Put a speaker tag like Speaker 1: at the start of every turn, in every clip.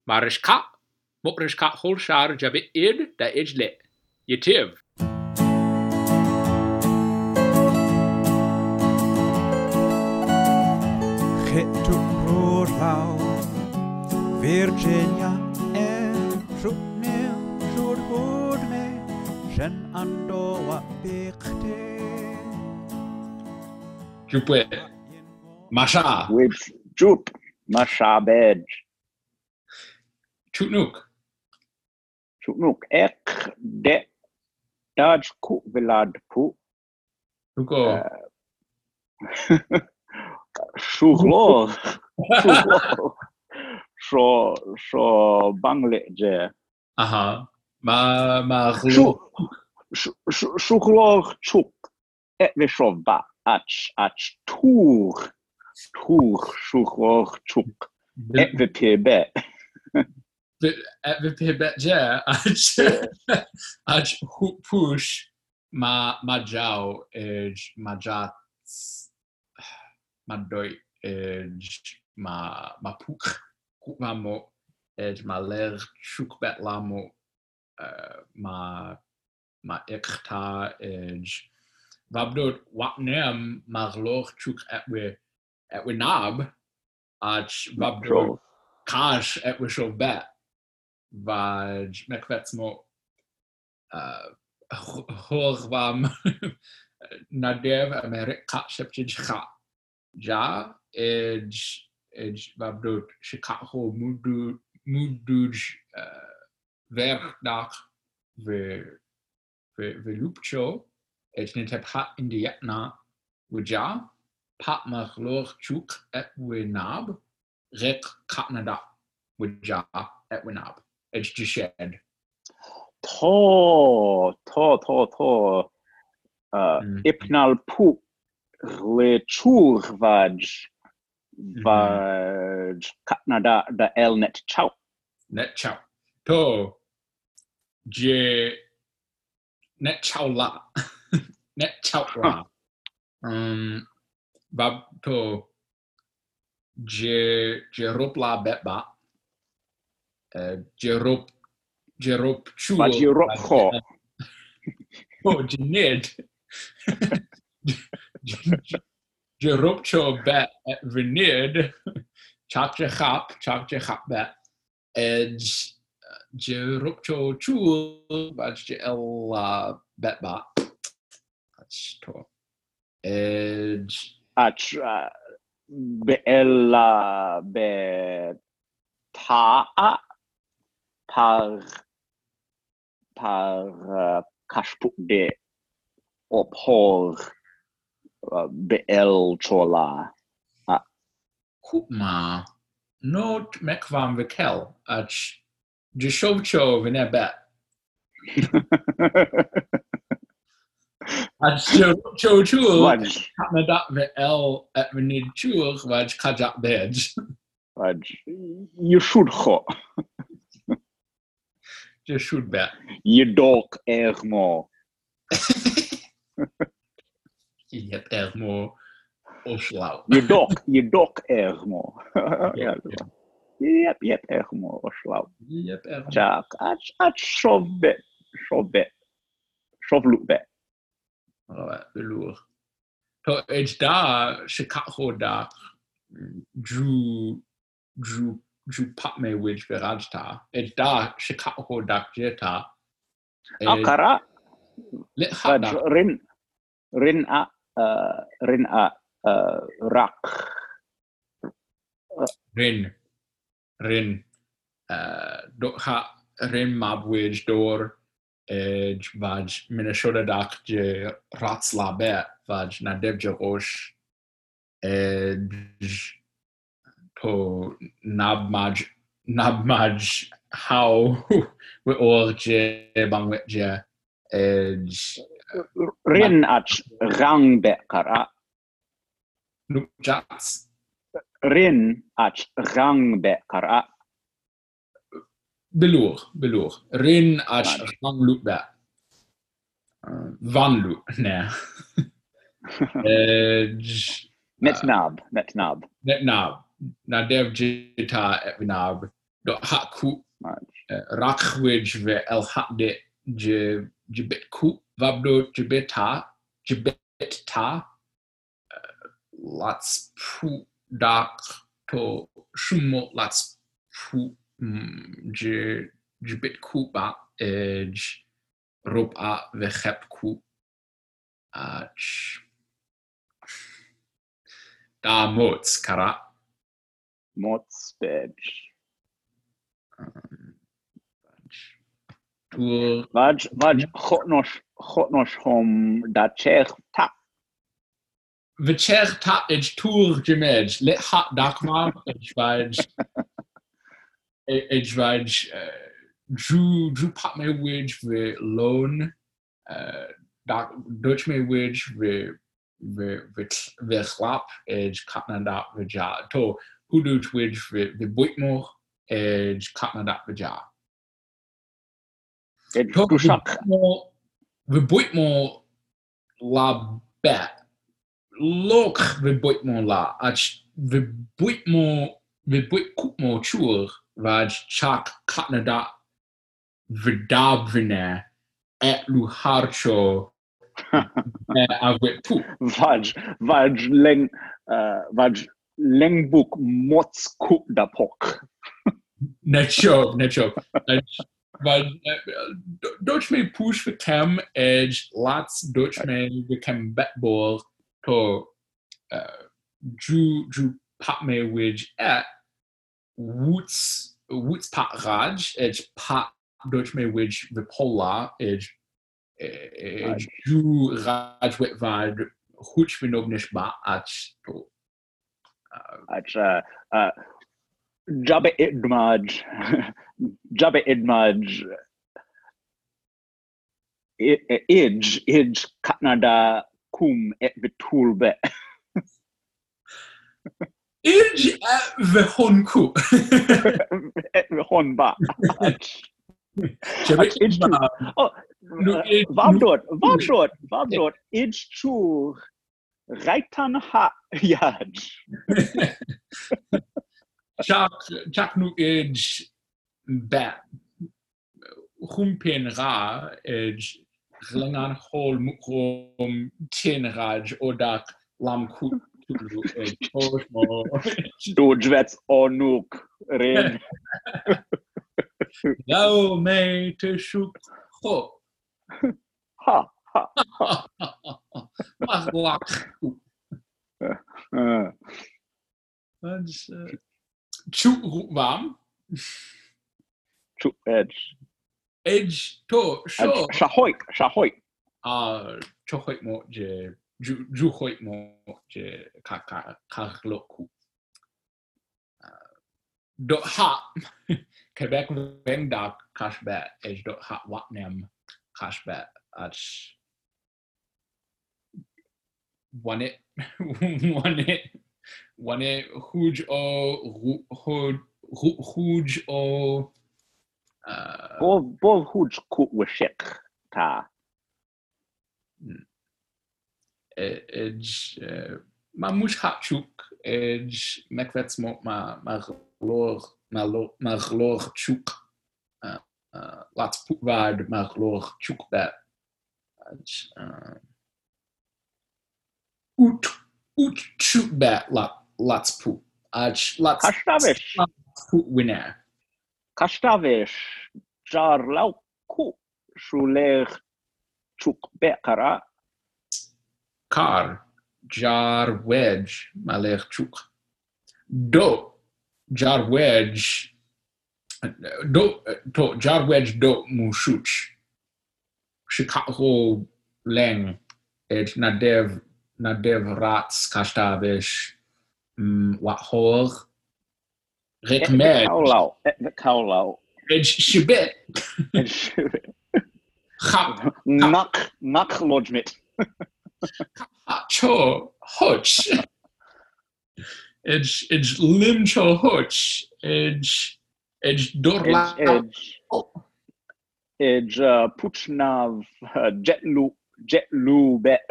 Speaker 1: Mariska, Mopriska Holshar Jabit Id, da Ijlet. Yetiv.
Speaker 2: Chetu Roadlaw, Virginia, Shutnil, Shudhudme, Shen Andoa Bikte.
Speaker 1: Jupwe. Masha.
Speaker 3: With Jup, Masha Bej,
Speaker 1: Chutnuk.
Speaker 3: Ek de Daj Ku Vilad Pu,
Speaker 1: Hugo.
Speaker 3: Shuglo, Sho Bangle Je.
Speaker 1: Aha.
Speaker 3: Shuglo Chuk, et Vishova, Ach Tour, Shuglo Chuk, et Vipebe.
Speaker 1: At Vipibet Je, Ach Push, Majau, Edge, Majats, Madoi, Edge, Mapuk, Kukmamo, Edge, Maler, Chukbet Lamo, Ma Ekta, Edge, Vabdot, Wapnem, Marloch, Chuk at Winab, Ach Vabdot, Kash at Wishovbet. Vaj mekvetsmo horvam nadev Amerika shepchija ja edge babdot shikaho muduj verdak velupcho edge netephat indietna wija pat machlor chuk et winab rek katnada wija et winab. Edge to shed.
Speaker 3: To. Ipnal pu le chur vaj katnada da el net chow.
Speaker 1: Net chow. To je net chow la. Net chow la. Bab to je rup la bet ba. Jerup chul.
Speaker 3: But Jerup ho.
Speaker 1: Oh, Janid. Jerup cho bet at Vinid. Chap chap bet. Edge Jerup cho chul. Baj el bet ba. That's to. Edge.
Speaker 3: Ach be el be ta par kashpuk de ophor be'el chola.
Speaker 1: Kupma not mekvam vikel ach jeshovcho vinebet. Ach jeshovcho chul nadat ve'el et vinid chul vaj kajak bej.
Speaker 3: You should ho.
Speaker 1: Just should bet.
Speaker 3: You dok ermo.
Speaker 1: Yep, ermo oslau.
Speaker 3: You dok ermo. Yep, ermo oslau.
Speaker 1: Yep, ermo.
Speaker 3: Jack, ach shove look bet.
Speaker 1: Alright, velour. To edge da shikaho da drew patme which verajta. Edge da shikaho da jeta.
Speaker 3: Akara.
Speaker 1: Lit hada.
Speaker 3: Rin a rak.
Speaker 1: Rin. Do ha rin mabwij door. Edge vaj Minnesota dak je ratsla bet vaj nadev je rosh. Edge to nabmaj how we or je bangwet je edge
Speaker 3: Rin ach rang bet kara.
Speaker 1: nukjats
Speaker 3: Rin ach rang bet kara.
Speaker 1: belour rin ach rang loop bet van loop ne edge
Speaker 3: Net nab.
Speaker 1: nadev jita et vinab do haku
Speaker 3: Maj.
Speaker 1: rakwej ve el hadde jebet ku vabdo jebet ta lats pu dak to shumo lats pu jebet ku ba rob a ve hep ku da mots kara
Speaker 3: Mots bed.
Speaker 1: Tour
Speaker 3: Vaj chotnosh hom da chech ta.
Speaker 1: Vicher ta ej tour jemej let hat dakma ej vaj drew pat me wage ve loan dak Dutch me wage ve chlap ej katna dat veja to who do wage ve boitmo ej katna dat veja to ve boitmo la bet Lok ve boitmo la ach ve boitmo chur vaj chak katnada vedavne et lu harcho avec pu
Speaker 3: Vaj lengbuk mots ku da pok.
Speaker 1: necho vaj Dutch me push for chem edge lots Dutch me become betball to drew pat me wedge at woots pat raj edge pat Dutch me wedge vipola edge drew raj wet vad huch vinognish ba at to
Speaker 3: Jabe idmaj ij Canada kum et betulbe.
Speaker 1: Ij vehonku
Speaker 3: Et hon ba. Vabdot ij chu Raitan ha yaj.
Speaker 1: Chak nu ij bat humpin ra ij glangan hol mukrom tin raj odak lam kut
Speaker 3: Du dwets onuk ren.
Speaker 1: Thou may te shuk ho
Speaker 3: Ha.
Speaker 1: Maglak Chuk warm
Speaker 3: Chu edge.
Speaker 1: Edge to show
Speaker 3: Shahoy.
Speaker 1: Chohoit mo je Juhoit mo je kakloku dot ha Quebec Vengdak cashbat edge dot ha watnam cashbat at one it huge o
Speaker 3: Bov huge ku washik ta.
Speaker 1: Edge ma mush hachuk edge mekvets mo ma glor chuk lats putvad ma glor chuk bet ut chuk bet lats put lats put winner
Speaker 3: Kashtavish jar lau ku shuler chuk bekara.
Speaker 1: Car jar wedge malech chuk do jar wedge do to jar wedge do mushuch Chicago leng et nadev rats kashtavish wat hor rekmed
Speaker 3: Kaulau.
Speaker 1: edge shibet
Speaker 3: Nak lodgement.
Speaker 1: Cho Hutch. Edge lim cho Hutch. Edge dorla.
Speaker 3: Edge puchnav jetlu bet.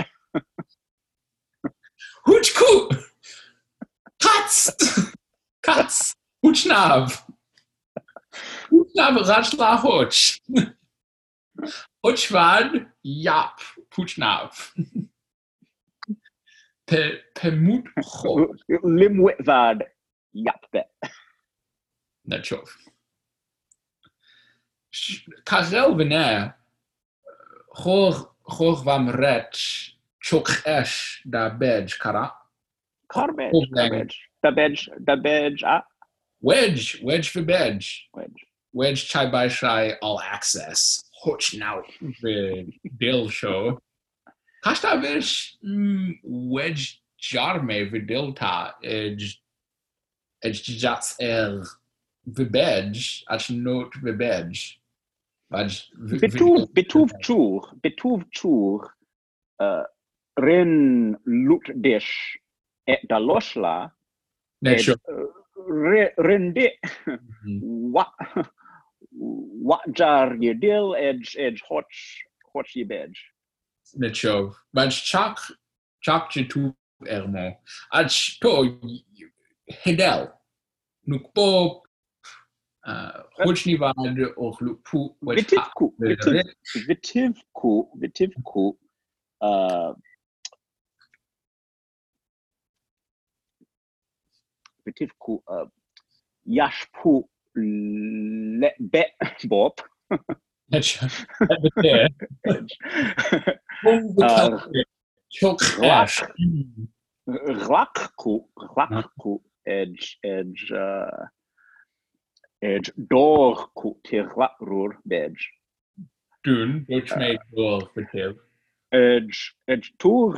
Speaker 1: Hutch ku. Cats. Puchnav. Poetsnav rach la hoch. Hochvad, yap, poetsnav. Pe moed ho.
Speaker 3: Limwitvad, yapbe.
Speaker 1: Net chof. Karel vener, Hoog vam ret, chok esh da bej kara.
Speaker 3: Garbage. The badge,
Speaker 1: Wedge for bej.
Speaker 3: wedge.
Speaker 1: Wedge chai by shai all access. Hoch now the Dill show. Kasta vish wedge jarme vidilta edge jats vibej ach note vibej.
Speaker 3: Betuv chur, ren loot dish et da losla, ren de, what jar ye dill edge hot ye bedge.
Speaker 1: Netchov. But chak jitu ermo. Ach to hedel. Nukpo hochnivad och lukpu.
Speaker 3: Vitivku, yashpu let bet bob. Glakku, edge dorku tirlakrur bedge.
Speaker 1: Dun, which made door for Tiv.
Speaker 3: Edge tour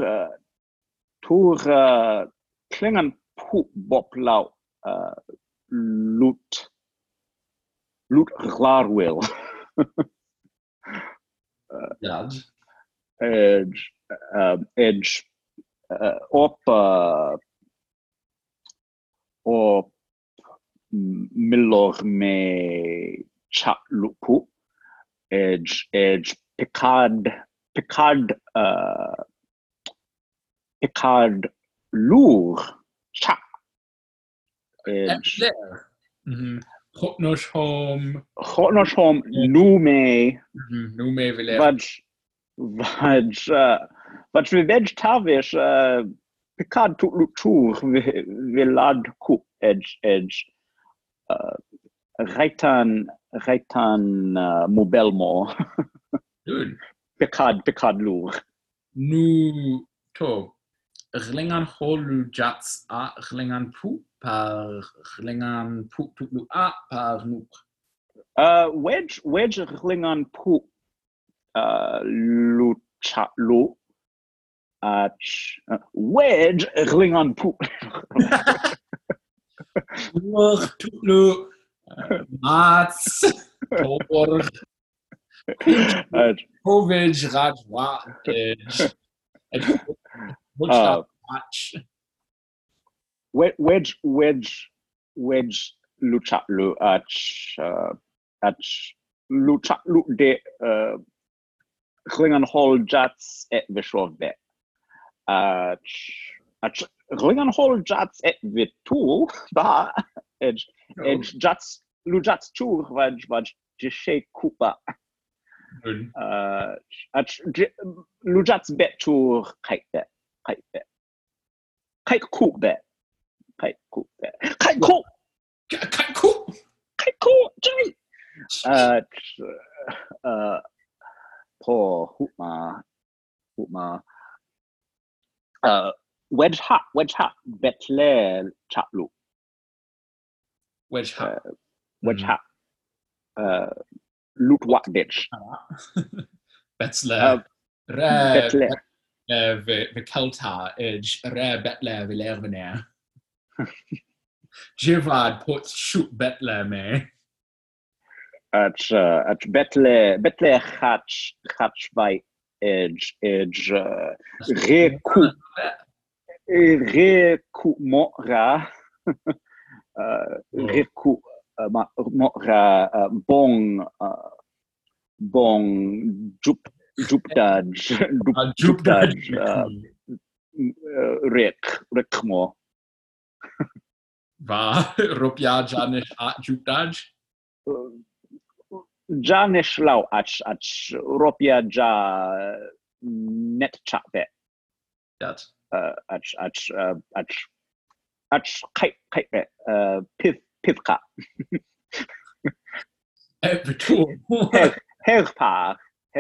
Speaker 3: klingan poop bop lau loot glarwil. Edge op milor me chat lupu. Edge Picard lour chat. Edge
Speaker 1: there. Hotnosh home.
Speaker 3: Nume.
Speaker 1: Nume Village.
Speaker 3: Vaj veg tavish Picard tour vilad ku edge Raitan Mobelmo.
Speaker 1: Good.
Speaker 3: Picard lour.
Speaker 1: Nu to. Glingan holu jats a glingan pu par glingan pu tuklu a par nuk.
Speaker 3: Wedge glingan pu lu chat lu. Wedge glingan pu.
Speaker 1: Nuk tuklu mats tor. Covid rajwa
Speaker 3: Wedge luchatlu at luchatlu de Klingan hol jats et vishov bet. Klingan hol jats et vitul ba edge jats lujats chur vaj jishe kupa. Lujats bet chur kite bet. Kite cool bet. Jay. Poor Hoopma. Wedge hat, Betle Chatlu.
Speaker 1: Wedge hat.
Speaker 3: Loot what ditch.
Speaker 1: Betle. Kelta edge Betle Villervener. Jivad put shoot Betle me.
Speaker 3: At Betle hatch by edge reku mora reku mora bong jupdaj rekmo
Speaker 1: Va rupia janish at jupdaj.
Speaker 3: Ja nishlau ach ropia ja net chape.
Speaker 1: Dat.
Speaker 3: Ach kite pithka.
Speaker 1: Betul.
Speaker 3: Herpar.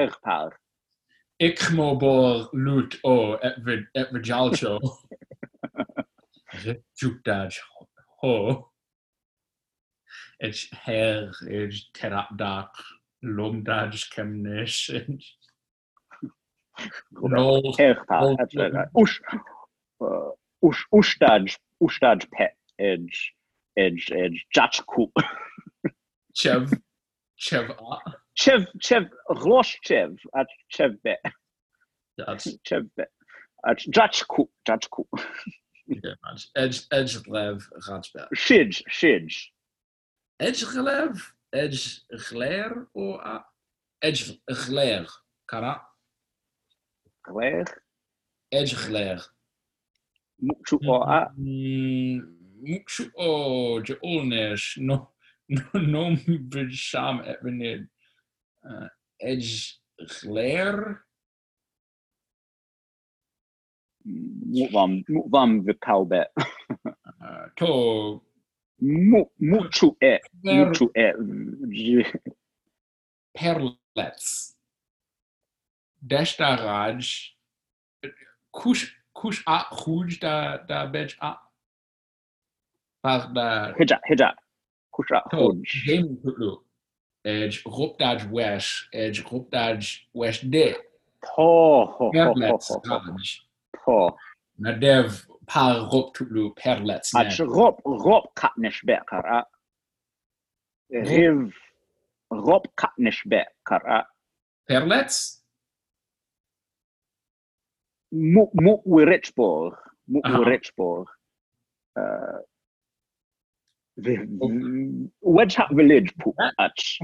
Speaker 1: Ik mo bor loot o et vijalcho. Jukdaj ho. Et her is terapdak lomdaj kemnish. No.
Speaker 3: Herpar. Ustaj pet edge jachku.
Speaker 1: Chev
Speaker 3: Rosh chev at chev bet.
Speaker 1: That's
Speaker 3: Chev bet. At jachku.
Speaker 1: Edge lev ratsbel.
Speaker 3: Shij.
Speaker 1: Edge gler or edge gler kara.
Speaker 3: Claire.
Speaker 1: Edge gler.
Speaker 3: Mukchu o
Speaker 1: Mukshu o Jolnesh no bisham etbenid edge gler.
Speaker 3: Mukvam vipalbet.
Speaker 1: To
Speaker 3: Mukchu
Speaker 1: perlets. Deshtaraj kush a huj da bej a par da
Speaker 3: Hija. Kusha huj.
Speaker 1: game putlu edge rupdaj wesh de perlets
Speaker 3: Po.
Speaker 1: nadev par ruptulu perlets
Speaker 3: Ach rop katnish bet kara. Riv rop katnish bet kara.
Speaker 1: perlets
Speaker 3: Muk Richborg. Wedge Hat Village poop ach.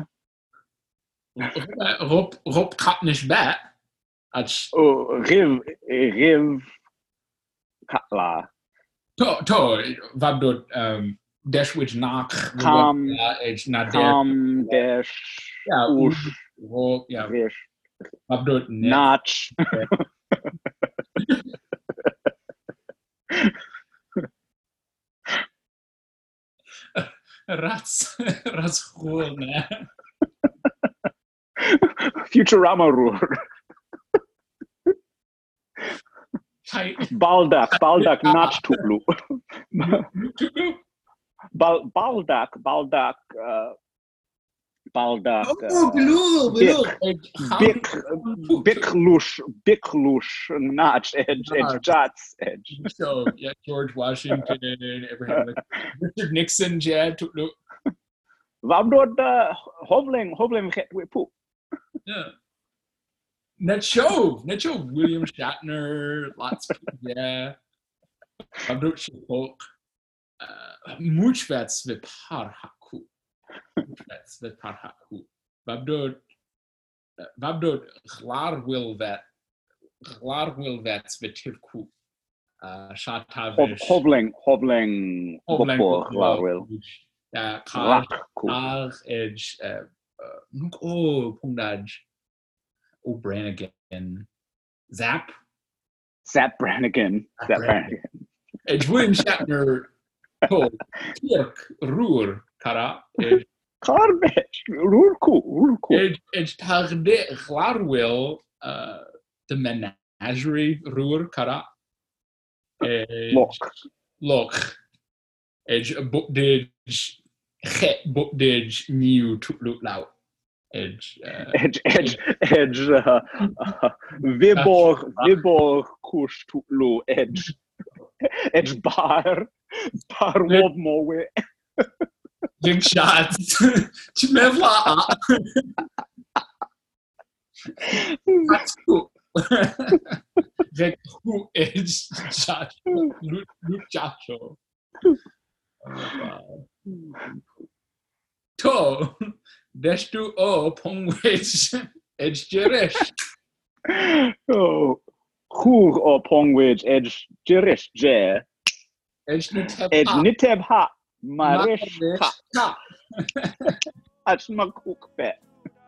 Speaker 1: rup katnish bet ach
Speaker 3: Riv Katla.
Speaker 1: to vabdot deshwich knock edge
Speaker 3: Kam dash ush vish
Speaker 1: vabdot
Speaker 3: notch.
Speaker 1: Rats cool, man.
Speaker 3: Futurama rule. Baldak notch tuplu. Baldak Biklush notch edge jots edge.
Speaker 1: So yeah, George Washington and Abraham Richard Nixon Jad tuplu.
Speaker 3: Vabdod hovling with poop.
Speaker 1: Yeah. Net show William Shatner, lots of yeah. Vabdot Shipok. Muchvets vipar haku. Muchvets vipar haku. Vabdot glar will vets vitivku. Shatavish.
Speaker 3: Hovling before glar will.
Speaker 1: Kar edge Pundaj O'Branigan Zap
Speaker 3: Brannigan.
Speaker 1: Edge William Shatner Kirk Ruhr Kara
Speaker 3: Carbage Ruhr cool.
Speaker 1: Edge Tagde Glarwil the Menagerie Ruhr Kara Look Edge Bookdage new to look loud. Edge
Speaker 3: Vibor kush to low edge bar wob more
Speaker 1: Link shots Chimevla. That's cool. Who edge shot Luke Chacho. To Destu o Pongwich Edge Jerish.
Speaker 3: Oh, who or Pongwich Edge Jerish Jer
Speaker 1: Edge
Speaker 3: Niteb Ha Marish Ach ma cook bet.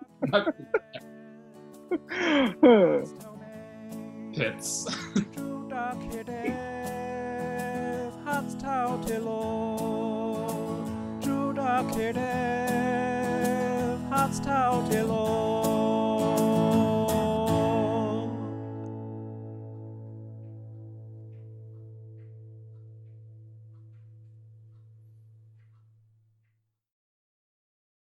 Speaker 1: Pits.
Speaker 2: Hans tau till Judah Kedev, Hans tau till